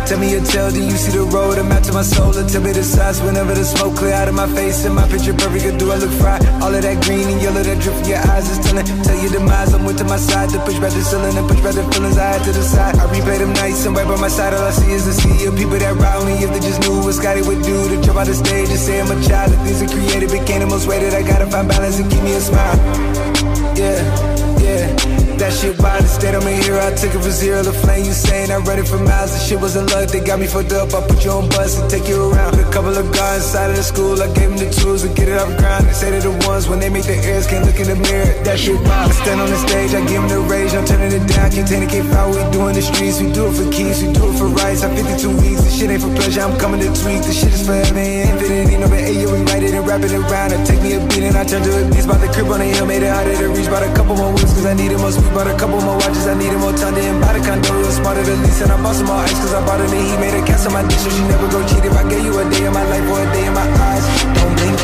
tell me your tale, do you see the road? A map to my soul, and tell me the size. Whenever the smoke clear out of my face and my picture perfect, or do I look fried? All of that green and yellow that drip from your eyes is telling. Tell your demise, I'm with to my side to push back the ceiling and push back the feelings I had to the side. I replay them nights and right by my side, all I see is the sea of people that ride me. If they just knew what Scotty would do to jump out the stage and say I'm a child. The things I created became the most weighted. I gotta find balance and keep me a smile. Yeah, yeah. That shit wild, the state I'm a hero. I took it from zero to flame. You saying I read it for miles. The shit wasn't luck, they got me fucked up. I put you on bus and take you around. A couple of guys inside of the school, I gave them the tools to get it off the ground. They say they're the ones when they make their ears can't look in the mirror. That shit wild. I stand on the stage, I give them the rage. I'm turning it down, can't take it, can't foul. We do in the streets, we do it for keys, we do it for rights. I'm 52 weeks, this shit ain't for pleasure. I'm coming to tweak, this shit is forever and infinity. No, but hey, yo, we write it and wrap it around. I take me a beat and I turn to a beast. Bought the crib on the hill, made it harder to reach. Bought a couple more weeks cause I needed more sweet. Bought a couple more watches, I needed more time to buy the condo. It was smarter than lease, and I bought some more ice cause I bought it and he made a cast on my dish, so she never go cheat. If I gave you a day of my life or a day in my eyes, don't blink.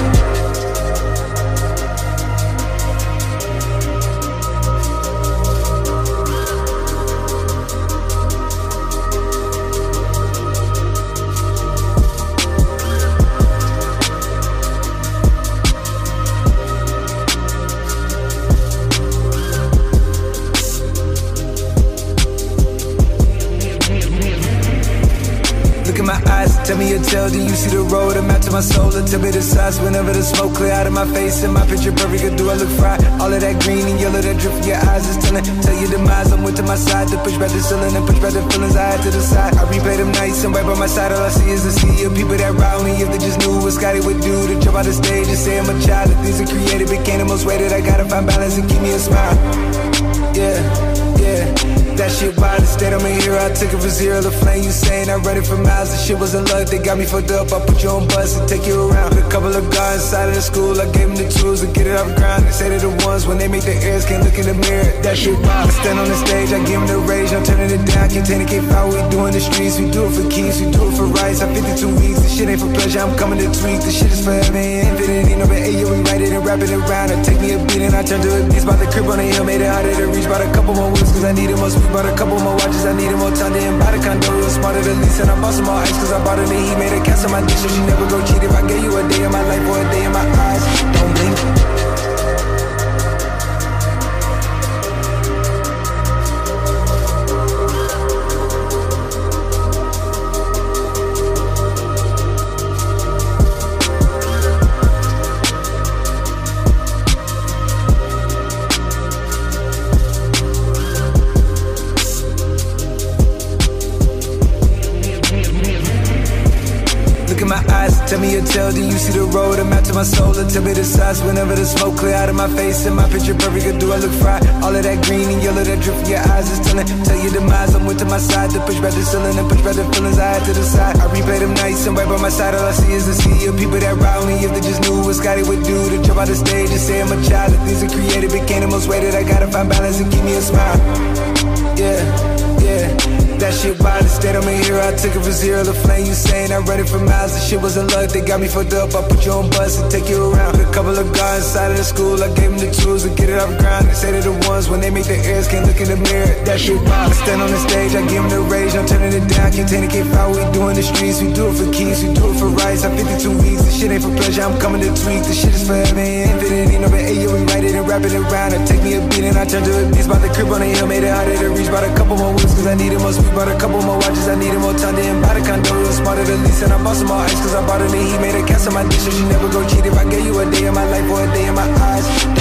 Tell me your tale, do you see the road? A map to my soul, and tell me the size. Whenever the smoke clear out of my face and my picture perfect, or do I look fried? All of that green and yellow that drip from your eyes is telling. Tell your demise, I'm with to my side to push back the ceiling and push back the feelings I had to the side. I replay them nights and right by my side, all I see is the sea of people that ride me. If they just knew what Scotty would do to jump out the stage and say I'm a child. The things I created became the most weighted. I gotta find balance and keep me a smile. Yeah, yeah. That shit wild, the state I'm a hero. I took it from zero to flame. You saying I read it for miles. The shit wasn't luck, they got me fucked up. I put you on bus and take you around. A couple of guys inside of the school, I gave them the tools to get it off the ground. They say they're the ones when they make their ears can't look in the mirror. That shit wild. I stand on the stage, I give them the rage. I'm turning it down, can't take it, can't foul. We do in the streets, we do it for keys, we do it for rights. I'm 52 weeks, this shit ain't for pleasure. I'm coming to tweak, this shit is forever and infinity. No, but hey, yo, we write it and wrap it around. I take me a beat and I turn to a beast. Bought the crib on the hill, made it harder to reach. Bought a couple more weeks cause I needed more sweet. Bought a couple more watches, I needed more time to buy the condo. It was smarter than lease, and I bought some more ice cause I bought it and he made a cast on my dish, so she never go cheat. If I gave you a day of my life or a day in my eyes, don't blink. Tell me your tale, do you see the road? A map to my soul, and tell me the size. Whenever the smoke clear out of my face and my picture perfect, or do I look fried? All of that green and yellow that drip from your eyes is telling. Tell your demise, I'm with to my side to push back the ceiling and push back the feelings I had to the side. I replay them nights and right by my side, all I see is the sea of people that ride me. If they just knew what Scotty would do to jump out the stage and say I'm a child. The things I created became the most weighted. I gotta find balance and keep me a smile. Yeah, yeah. That shit wild, the state I'm a hero. I took it from zero to flame. You saying I read it for miles. The shit wasn't luck, they got me fucked up. I put you on bus and take you around. A couple of guys inside of the school, I gave them the tools to get it off the ground. They say they're the ones when they make their ears can't look in the mirror. That shit wild. I stand on the stage, I give them the rage. I'm turning it down, can't take it, can't foul. We do in the streets, we do it for keys, we do it for rights. I'm 52 weeks, this shit ain't for pleasure. I'm coming to tweak, this shit is forever and infinity. No, but hey, yo, we write it and wrap it around. I take me a beat and I turn to a beast. Bought the crib on the hill, made it harder to reach. Bought a couple more weeks cause I needed more sweet. Bought a couple more watches, I needed more time to buy the condo. It was smarter than lease, and I bought some more ice cause I bought it and he made a cast on my dish, so she never go cheat. If I gave you a day of my life or a day in my eyes,